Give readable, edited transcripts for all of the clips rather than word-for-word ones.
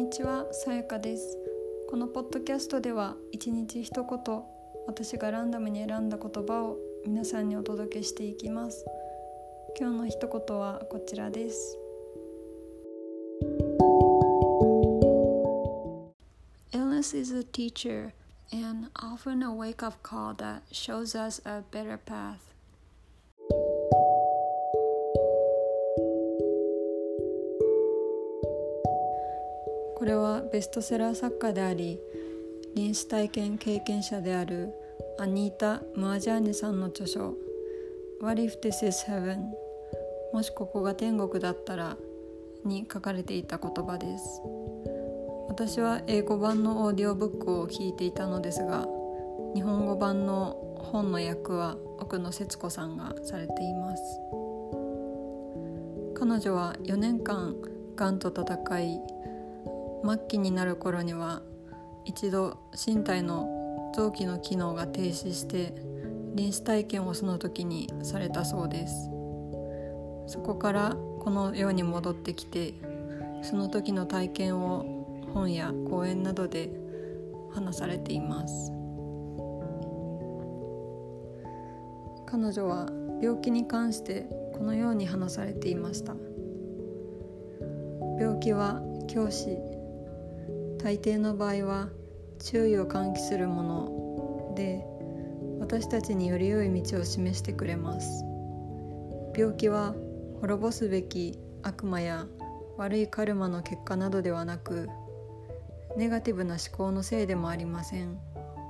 にちは、さやかです。このポッドキャストでは一日一言、私がランダムに選んだ言葉を皆さんにお届けしていきます。今日の一言はこちらです。Illness is a teacher and often a wake-up call that shows us a better path.これはベストセラー作家であり、臨死体験経験者であるアニータ・ムアジャーニさんの著書 What if this is heaven? もしここが天国だったらに書かれていた言葉です。私は英語版のオーディオブックを聞いていたのですが、日本語版の本の訳は奥野節子さんがされています。彼女は4年間がんと闘い、末期になる頃には一度身体の臓器の機能が停止して臨死体験をその時にされたそうです。そこからこの世に戻ってきて、その時の体験を本や講演などで話されています。彼女は病気に関してこのように話されていました。病気は教師、大抵の場合は注意を喚起するもので、私たちにより良い道を示してくれます。病気は滅ぼすべき悪魔や悪いカルマの結果などではなく、ネガティブな思考のせいでもありません。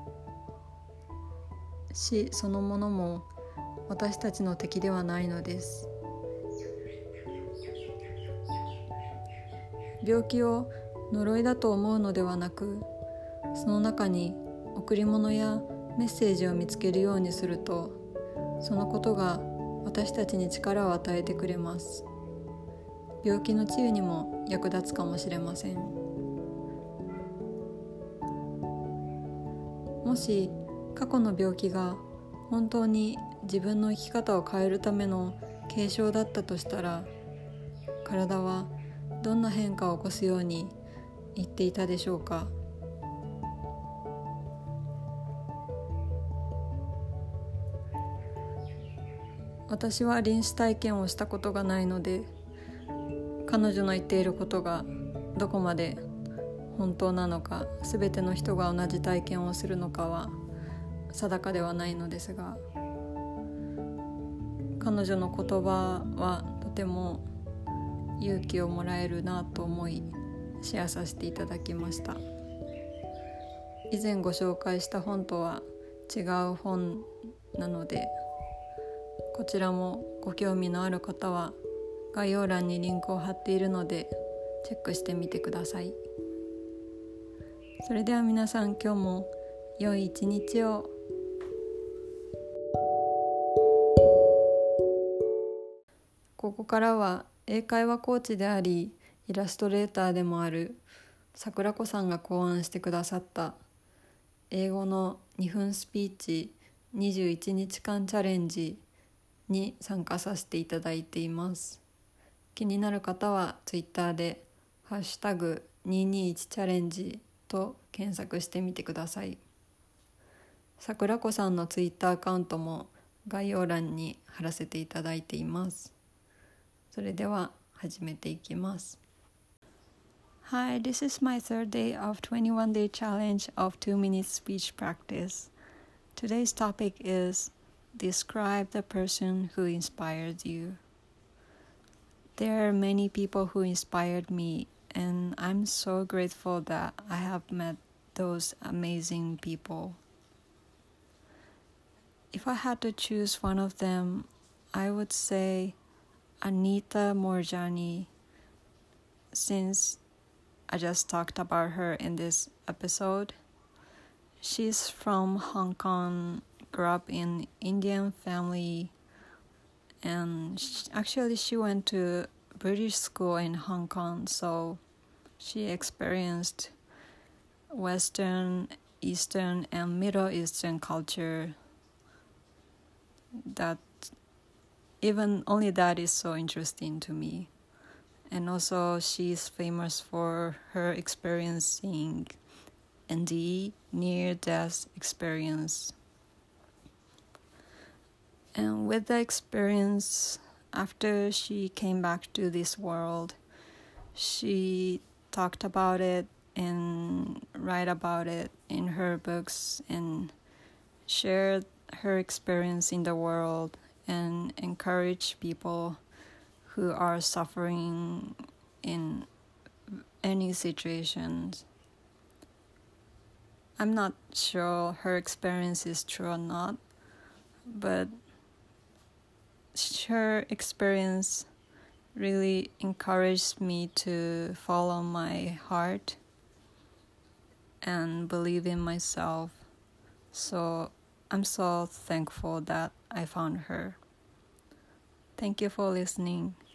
死そのものも私たちの敵ではないのです。病気を呪いだと思うのではなく、その中に贈り物やメッセージを見つけるようにすると、そのことが私たちに力を与えてくれます。病気の治癒にも役立つかもしれません。もし過去の病気が本当に自分の生き方を変えるための警鐘だったとしたら、体はどんな変化を起こすように言っていたでしょうか。私は臨死体験をしたことがないので、彼女の言っていることがどこまで本当なのか、全ての人が同じ体験をするのかは定かではないのですが、彼女の言葉はとても勇気をもらえるなと思い、シェアさせていただきました。以前ご紹介した本とは違う本なので、こちらもご興味のある方は概要欄にリンクを貼っているのでチェックしてみてください。それでは皆さん、今日も良い一日を。ここからは英会話コーチでありイラストレーターでもある桜子さんが考案してくださった英語の2分スピーチ21日間チャレンジに参加させていただいています。気になる方はツイッターでハッシュタグ221チャレンジと検索してみてください。桜子さんのツイッターアカウントも概要欄に貼らせていただいています。それでは始めていきます。Hi, this is my third day of 21-day challenge of 2-minute speech practice. Today's topic is Describe the person who inspired you. There are many people who inspired me, and I'm so grateful that I have met those amazing people. If I had to choose one of them, I would say Anita Moorjani, since I just talked about her in this episode. She's from Hong Kong, grew up in Indian family, and she went to British school in Hong Kong, so she experienced Western, Eastern, and Middle Eastern culture. That even only that is so interesting to me. And also she's famous for her experiencing NDE, near-death experience. And with the experience, after she came back to this world, she talked about it and write about it in her books and shared her experience in the world and encourage people who are suffering in any situations. I'm not sure her experience is true or not, but her experience really encouraged me to follow my heart and believe in myself. So I'm so thankful that I found her. Thank you for listening.